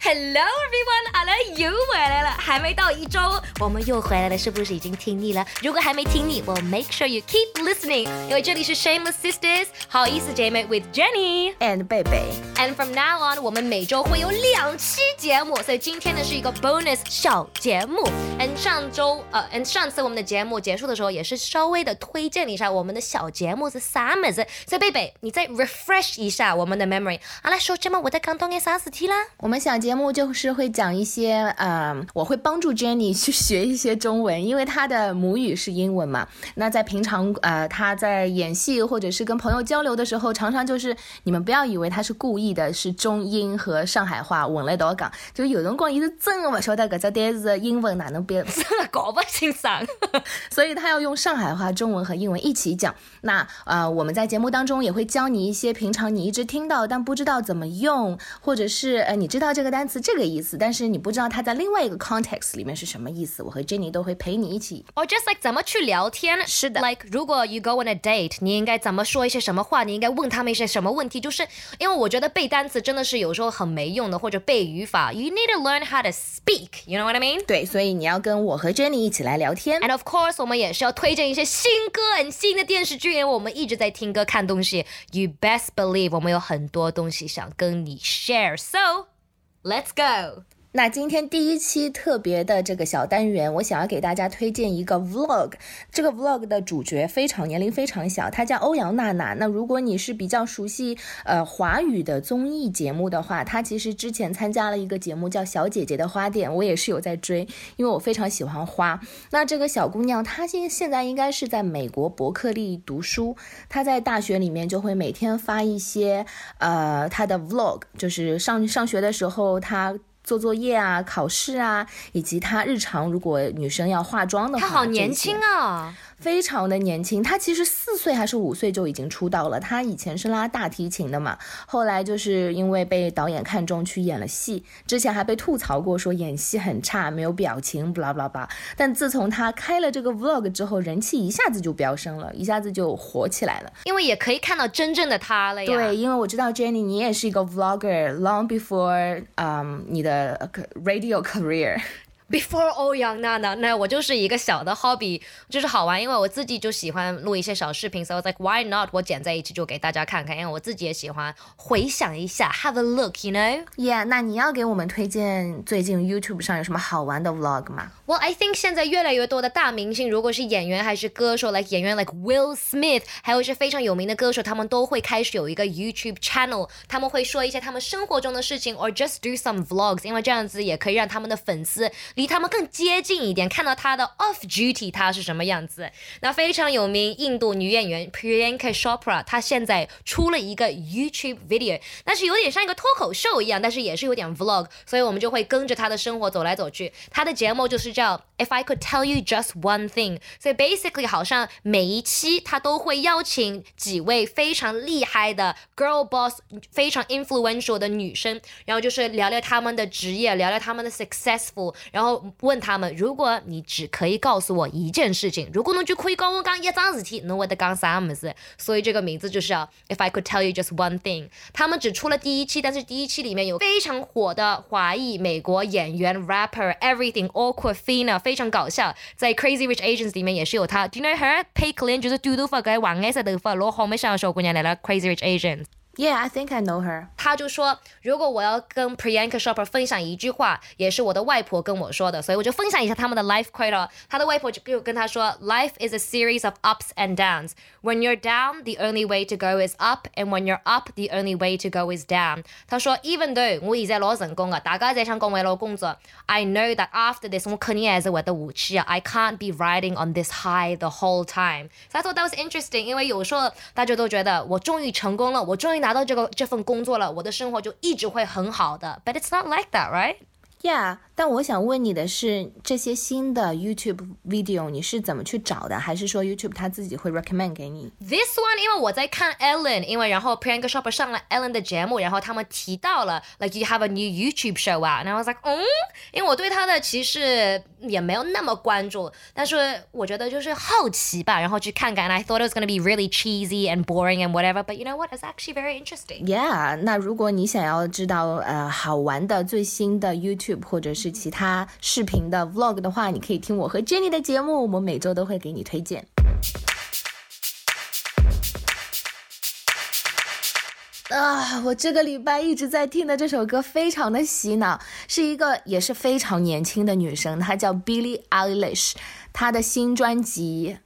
Hello everyone， 阿乐又回来了，还没到1周，我们又回来了，是不是已经听腻了？如果还没听腻，我 make sure you keep listening， 因为这里是 Shameless Sisters， 好意思姐妹 with Jenny and 贝贝。 And from now on， 我们每周会有2期节目，所以今天呢是一个 bonus 小节目。And 上次我们的节目结束的时候，也是稍微的推荐一下我们的小节目是啥么子。所以贝贝，你再 refresh 一下我们的 memory。好了，说这么我在刚懂嘅啥事体啦？ 我们小节目就是会讲一些，我会帮助 Jenny 去学一些中文，因为她的母语是英文嘛。那在平常她在演戏或者是跟朋友交流的时候，常常就是你们不要以为她是故意的，是中英和上海话混了一道讲，就有辰光伊是真的不晓得搿只单词英文哪能变， 搞不清爽。 所以她要用上海话、中文和英文一起讲。那我们在节目当中也会教你一些平常你一直听到但不知道怎么用，或者是你知道这个单词这个意思，但是你不知道它在另外一个 context 里面是什么意思，我和 Jenny 都会陪你一起。 Or just like 怎么去聊天。 是的。 Like 如果 you go on a date， 你应该怎么说一些什么话，你应该问他们一些什么问题，就是因为我觉得背单词真的是有时候很没用的，或者背语法 You need to learn how to speak, you know what I mean? 对，所以你要跟我和 Jenny 一起来聊天。 And of course 我们也是要推荐一些新歌和新的电视剧，因为我们一直在听歌看东西。 You best believe 我们有很多东西想跟你 share, so let's go。 那今天第一期特别的这个小单元，我想要给大家推荐一个 vlog。 这个 vlog 的主角年龄非常小，他叫欧阳娜娜。那如果你是比较熟悉华语的综艺节目的话，他其实之前参加了一个节目叫小姐姐的花店，我也是有在追，因为我非常喜欢花。那这个小姑娘她现在应该是在美国伯克利读书，她在大学里面就会每天发一些她的 vlog， 就是上学的时候她做作业啊、考试啊，以及她日常如果女生要化妆的话， 她好年轻啊， 非常的年轻。她其实4岁还是5岁就已经出道了。她以前是拉大提琴的嘛，后来就是因为被导演看中去演了戏，之前还被吐槽过说演戏很差，没有表情 blah blah blah。 但自从她开了这个 vlog 之后，人气一下子就飙升了，一下子就火起来了， 因为也可以看到真正的她了呀。 对，因为我知道 Jenny 你也是一个 vlogger long before 你的radio career。Before 欧阳娜娜，那我就是一个小的 hobby， 就是好玩，因为我自己就喜欢录一些小视频，所以 I was like why not 我剪在一起就给大家看看，因为我自己也喜欢回想一下 have a look you know。 Yeah， 那你要给我们推荐最近 YouTube 上有什么好玩的 vlog 吗？ Well I think 现在越来越多的大明星，如果是演员还是歌手 like 演员 like Will Smith， 还有一些非常有名的歌手，他们都会开始有一个 YouTube channel， 他们会说一些他们生活中的事情 or just do some vlogs， 因为这样子也可以让他们的粉丝离他们更接近一点，看到他的 off duty 他是什么样子。那非常有名印度女演员 Priyanka Chopra， 她现在出了一个 YouTube video， 但是有点像一个脱口秀一样，但是也是有点 vlog， 所以我们就会跟着她的生活走来走去。她的节目就是叫 If I Could Tell You Just One Thing， 所以 basically 好像每一期她都会邀请几位非常厉害的 girl boss， 非常 influential 的女生，然后就是聊聊他们的职业，聊聊他们的 successful， 然后问他们，如果你只可以告诉我一件事情，如果你就可以跟我讲一桩事体，你会讲啥么子？所以这个名字就是叫 If I Could Tell You Just One Thing。 他们只出了第一期，但是第一期里面有非常火的华裔美国演员 rapper Everything Awkwafina， 非常搞笑，在 Crazy Rich Asians 里面也是有他。 Do you know her？ 佩克林就是短头发跟黄颜色头发，然后后面小姑娘来了 Crazy Rich Asians。Yeah, I think I know her。 他就说，如果我要跟 Priyanka Chopra 分享一句话，也是我的外婆跟我说的，所以我就分享一下他们的 life quote。 他的外婆就跟他说 Life is a series of ups and downs. When you're down, the only way to go is up, and when you're up, the only way to go is down. 他說 Even though 我現在攞成功啊，大家在想講為攞工作 I know that after this 我肯定還是會得下去啊 I can't be riding on this high the whole time. So I thought that was interesting， 因為有時候大家都覺得我終於成功了，我終於拿到這份工作了，我的生活就一直會很好的 But it's not like that, right? Yeah， 但我想问你的是，这些新的 YouTube video 你是怎么去找的？还是说 YouTube 它自己会 recommend 给你 This one 因为我在看 Ellen， 因为然后 Priyanka Chopra 上了 Ellen 的节目，然后他们提到了 like you have a new YouTube show out， and I was like 因为我对他的其实也没有那么关注，但是我觉得就是好奇吧，然后去看看 and I thought it was going to be really cheesy and boring and whatever, but you know what, it's actually very interesting. Yeah， 那如果你想要知道好玩的最新的 YouTube 或者是其他视频的 vlog 的话，你可以听我和 Jenny 的节目，我们每周都会给你推荐。我这个礼拜一直在听的这首歌非常的洗脑，是一个也是非常年轻的女生，她叫 Billie Eilish， 她的新专辑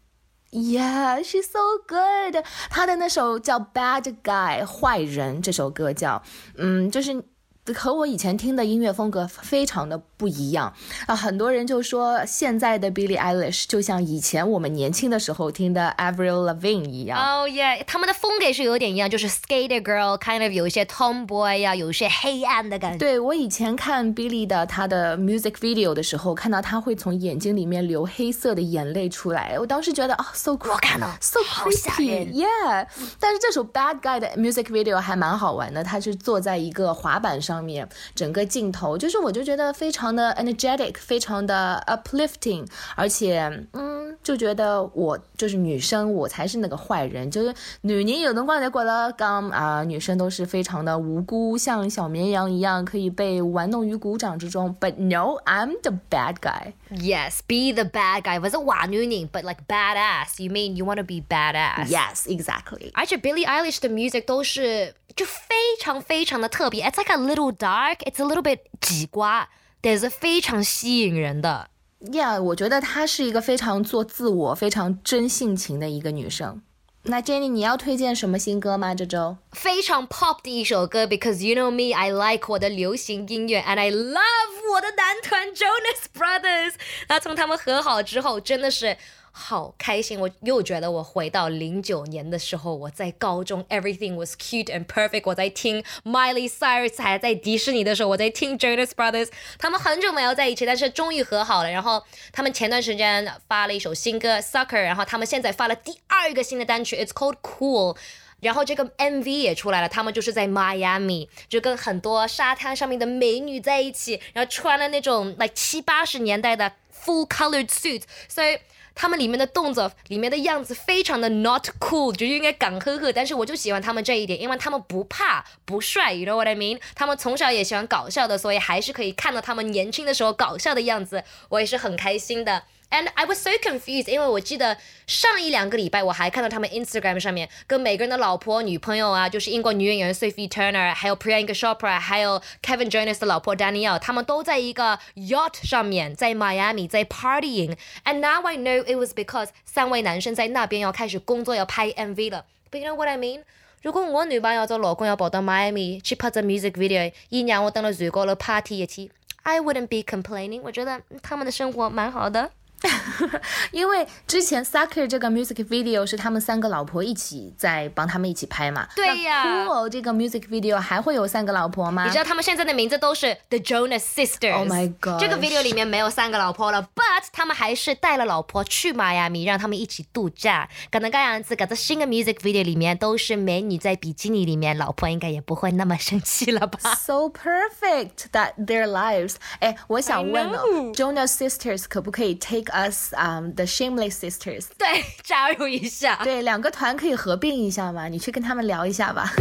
Yeah, she's so good. 她的那首叫 Bad Guy 坏人这首歌叫就是和我以前听的音乐风格非常的不一样很多人就说现在的 Billie Eilish 就像以前我们年轻的时候听的 Avril Lavigne 一样。 Oh yeah， 他们的风格是有点一样，就是 skater girl kind of 有一些 tomboy 呀，有一些黑暗的感觉。 对，我以前看 Billie 的她的 music video 的时候，看到她会从眼睛里面流黑色的眼泪出来，我当时觉得so cool， 我看了 so creepy yeah。 但是这首 Bad Guy 的 music video 还蛮好玩的，他是坐在一个滑板上面，整个镜头就是我就觉得非常的 energetic， 非常的 uplifting， 而且就觉得我就是女生，我才是那个坏人，就是女人有辰光就觉得女生都是非常的无辜，像小绵羊一样可以被玩弄于股掌之中 but no I'm the bad guy. Yes, be the bad guy 不是坏女人 but like badass. You mean you want to be badass? Yes, exactly. 而且 Billie Eilish 的 music 都是就非常非常的特别 It's like a little dark, it's a little bit 几瓜，但是非常吸引人的。 Yeah， 我觉得她是一个非常做自我非常真性情的一个女生。那 Jenny 你要推荐什么新歌吗这周？ 非常 pop 的一首歌 because you know me, I like 我的流行音乐 and I love 我的男团 Jonas Brothers。 那从他们和好之后真的是好开心，我又觉得我回到09年的时候，我在高中 everything was cute and perfect， 我在听 Miley Cyrus， 还在迪士尼的时候我在听 Jonas Brothers， 他们很久没有在一起，但是终于和好了，然后他们前段时间发了一首新歌 Sucker， 然后他们现在发了第2个新的单曲 It's called Cool，然后这个 MV 也出来了，他们就是在 Miami， 就跟很多沙滩上面的美女在一起，然后穿了那种 like 70-80年代的 full colored suits， 所以他们里面的动作里面的样子非常的 not cool， 就应该港呵呵，但是我就喜欢他们这一点，因为他们不怕不帅 you know what I mean， 他们从小也喜欢搞笑的，所以还是可以看到他们年轻的时候搞笑的样子，我也是很开心的。And I was so confused， 因为我记得上1-2个礼拜我还看到他们 Instagram 上面跟每个人的老婆女朋友啊，就是英国女演员 Sophie Turner， 还有 Priyanka Chopra， 还有 Kevin Jonas 的老婆 Danielle， 他们都在一个 yacht 上面在 Miami 在 partying， And now I know it was because 3位男生在那边要开始工作要拍 MV 了。 But you know what I mean， 如果我女朋友做老公要跑到 Miami 去拍隻 music video， 一讓我等到水果了 party 一起 I wouldn't be complaining， 我覺得他們的生活蠻好的。 因为之前 Sucker 这个 music video 是他们3个老婆一起在帮他们一起拍嘛。 对呀。 那 Cool 这个 music video 还会有3个老婆吗？ 你知道他们现在的名字都是 The Jonas Sisters。 Oh my god， 这个 video 里面没有3个老婆了 But 他们还是带了老婆去迈阿密，让他们一起度假。可能这样子，这新的 music video 里面都是美女在比基尼里面，老婆应该也不会那么生气了吧。 So perfect that their lives。 我想问Jonas Sisters 可不可以 take us the Shameless Sisters？ 对，加入一下。 对，2个团可以合并一下吗？你去跟他们聊一下吧。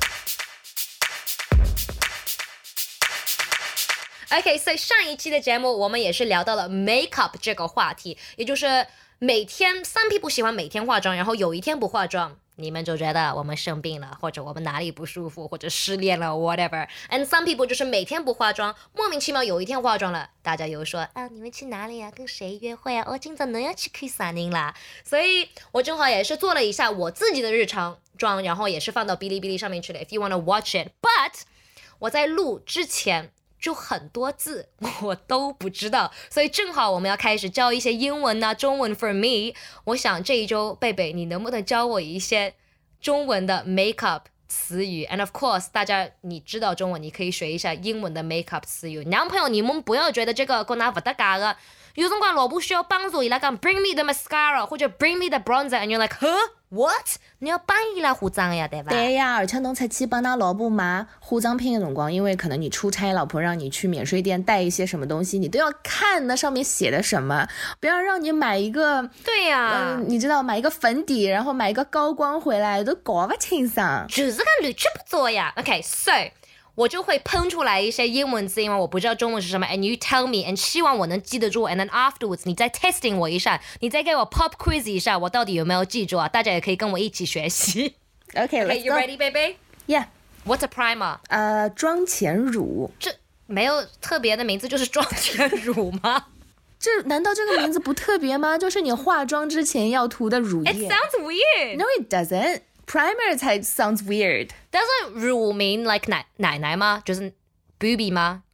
OK， 所以上一期的节目我们也是聊到了 makeup 这个话题，也就是每天 some people 喜欢每天化妆，然后有一天不化妆，你们就觉得我们生病了，或者我们哪里不舒服，或者失恋了 whatever。 And some people 就是每天不化妆，莫名其妙有一天化妆了，大家又说你们去哪里啊，跟谁约会啊，今早能要去看啥人啦。所以我正好也是做了一下我自己的日常妆，然后也是放到哔哩哔哩上面去了 If you wanna watch it。 But 我在录之前就很多字我都不知道，所以正好我们要开始教一些英文啊中文 for me。 我想这一周贝贝你能不能教我一些中文的 makeup 词语 and of course 大家你知道中文你可以学一下英文的 makeup 词语。男朋友你们不要觉得这个跟他不搭嘎的，有辰光老婆需要帮助，伊拉讲 bring me the mascara 或者 bring me the bronzer and you're like what 你要帮伊拉化妆呀，对吧？ 对呀，而且侬出去帮㑚老婆买化妆品的辰光，因为可能你出差，老婆让你去免税店带一些什么东西，你都要看那上面写的什么，不要让你买一个对呀、 你知道买一个粉底，然后买一个高光回来都搞不清爽。 就是个乱七八糟呀。OK so 我就会喷出来一些英文字，因为我不知道中文是什么 and you tell me and 希望我能记得住 and then afterwards 你再 testing 我一下，你再给我 pop quiz 一下我到底有没有记住啊，大家也可以跟我一起学习。 Okay, let's Okay, you go. ready, baby? Yeah. What's a primer? 妆前乳。 这没有特别的名字，就是妆前乳吗？ 难道这个名字不特别吗？就是你化妆之前要涂的乳液。 It sounds weird. No, it doesn't. Primer 才 sounds weird. Doesn't 乳 mean like 奶奶吗？就是 booby 吗？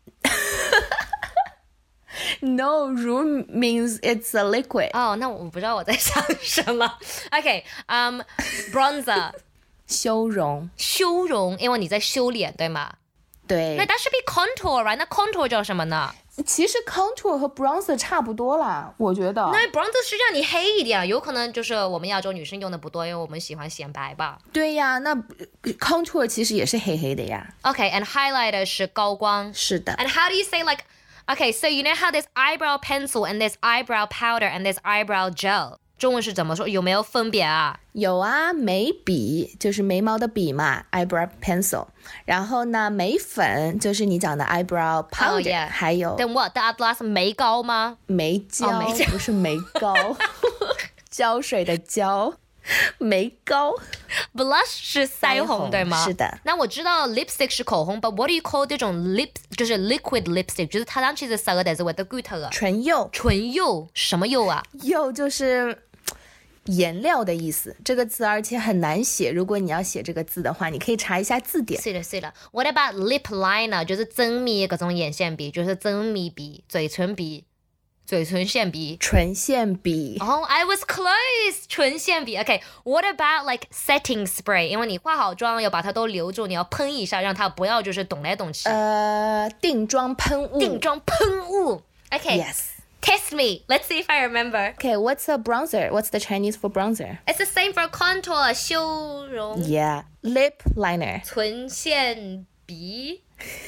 No, 乳 means it's a liquid. 哦，那我不知道我在想什么。Okay, bronzer 修容。 修容，因为你在修脸，对吗？ 对。 那 that should be contour, right? 那 contour 叫什么呢？ 其实 contour 和 bronzer 差不多啦，我觉得。 那 bronzer 是让你黑一点，有可能就是我们亚洲女生用的不多，因为我们喜欢显白吧。 对呀，那 contour 其实也是黑黑的呀。 Okay, and highlighter 是高光。 是的。 And how do you say like, okay, so you know how there's eyebrow pencil and there's eyebrow powder and there's eyebrow gel? 中文是怎么说？有没有分别啊？ 有啊，眉笔就是眉毛的笔嘛 ，eyebrow pencil。然后呢，眉粉就是你讲的 eyebrow powder，、 yeah. 还有 Then what? The Atlas 眉膏吗？ 眉胶， 眉胶不是眉膏，胶水的胶，眉膏。 Blush 是腮红对吗？ 是的。 那我知道 lipstick 是口红 ，but what do you call 这种 lip 就是 liquid lipstick？就是它上去是啥个，但是我的骨头啊。 唇釉， 唇釉什么釉啊？ 釉就是颜料的意思，这个字而且很难写。如果你要写这个字的话，你可以查一下字典。 是的，是的。What about lip liner？ 就是增密各种眼线笔，就是增密笔、嘴唇笔、嘴唇线笔。 唇线笔。 Oh, I was close. 唇线笔。Okay, what about like setting spray？ 因为你化好妆要把它都留住，你要喷一下，让它不要就是动来动去。 定妆喷雾。 定妆喷雾。Okay. Yes.Test me. Let's see if I remember. Okay, what's a bronzer? What's the Chinese for bronzer? It's the same for contour, 修容。 Yeah, lip liner. 唇线笔。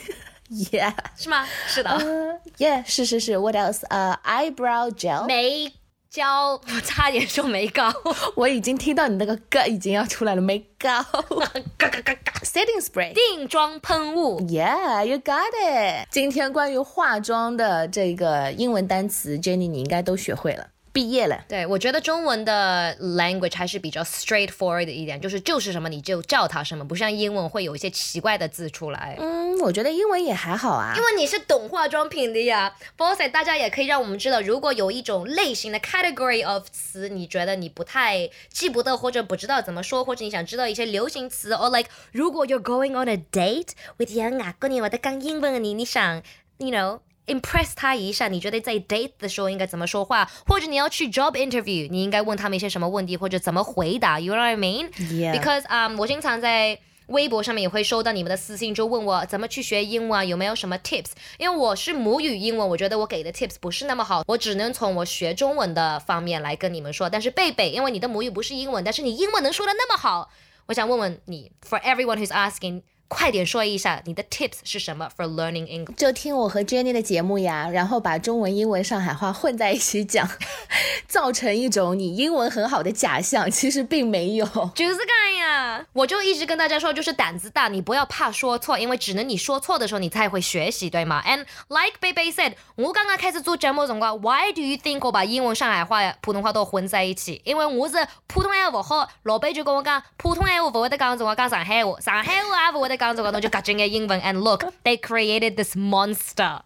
Yeah. 是吗？是的。 Yeah, 是。What else? Eyebrow gel. 眉胶，我差点说眉膏。 我已经听到你那个嘎已经要出来了，眉膏。Setting spray. 定妆喷雾。 Yeah, you got it. 今天关于化妆的这个英文单词 ，Jenny 你应该都学会了。毕业了。 对，我觉得中文的 language 还是比较 straightforward 的一点，就是什么你就叫它什么，不像英文会有一些奇怪的字出来。 我觉得英文也还好啊。 因为你是懂化妆品的呀。Boss， 大家也可以让我们知道，如果有一种类型的 category of 词，你觉得你不太记不得或者不知道怎么说，或者你想知道一些流行词 ，or like 如果 you're going on a date with 外国人或者讲英文的你想 ，you know。impress 他一下，你觉得在 date 的时候应该怎么说话，或者你要去 job interview， 你应该问他们一些什么问题，或者怎么回答 ，you know what I mean? Yeah. Because 我经常在微博上面也会收到你们的私信，就问我怎么去学英文啊，有没有什么 tips？ 因为我是母语英文，我觉得我给的 tips 不是那么好，我只能从我学中文的方面来跟你们说。但是贝贝，因为你的母语不是英文，但是你英文能说的那么好，我想问问你 ，for everyone who's asking。快点说一下你的 tips 是什么 for learning English？ 就听我和 Jenny 的节目呀，然后把中文、英文、上海话混在一起讲，造成一种你英文很好的假象，其实并没有。 就是这样，我就一直跟大家说，就是胆子大，你不要怕说错，因为只能你说错的时候，你才会学习，对吗 ？And like Baby said， 我刚刚开始做节目的时候 ，Why do you think 我把英文、上海话、普通话都混在一起？因为我是普通话不好，老板就跟我讲，普通话不会得讲，我讲上海话，上海话也不会得讲，我就夹进个英文。And look, they created this monster.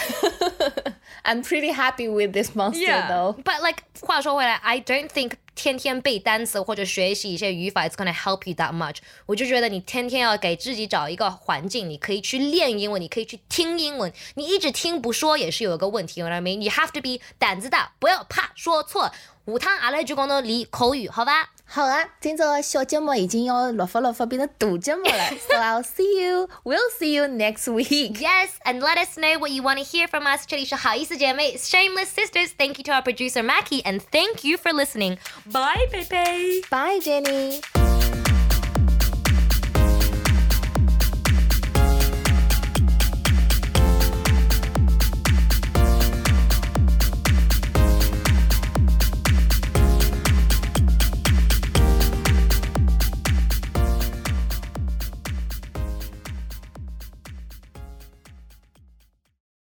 I'm pretty happy with this monster though. But like 话说回来 I don't think 天天背单词或者学习一些语法 it's gonna help you that much. 我就觉得你天天要给自己找一个环境，你可以去练英文，你可以去听英文，你一直听不说也是有一个问题 you know what I mean? You have to be 胆子大，不要怕说错。下趟阿拉就讲到练口语，好吧？ 好啊，今朝的小节目已經要落發變成大節目了。So I'll see you. We'll see you next week. Yes, and let us know what you want to hear from us. 这里是好意思姐妹 Shameless Sisters. Thank you to our producer Mackie, and thank you for listening. Bye, baby. Bye, Jenny.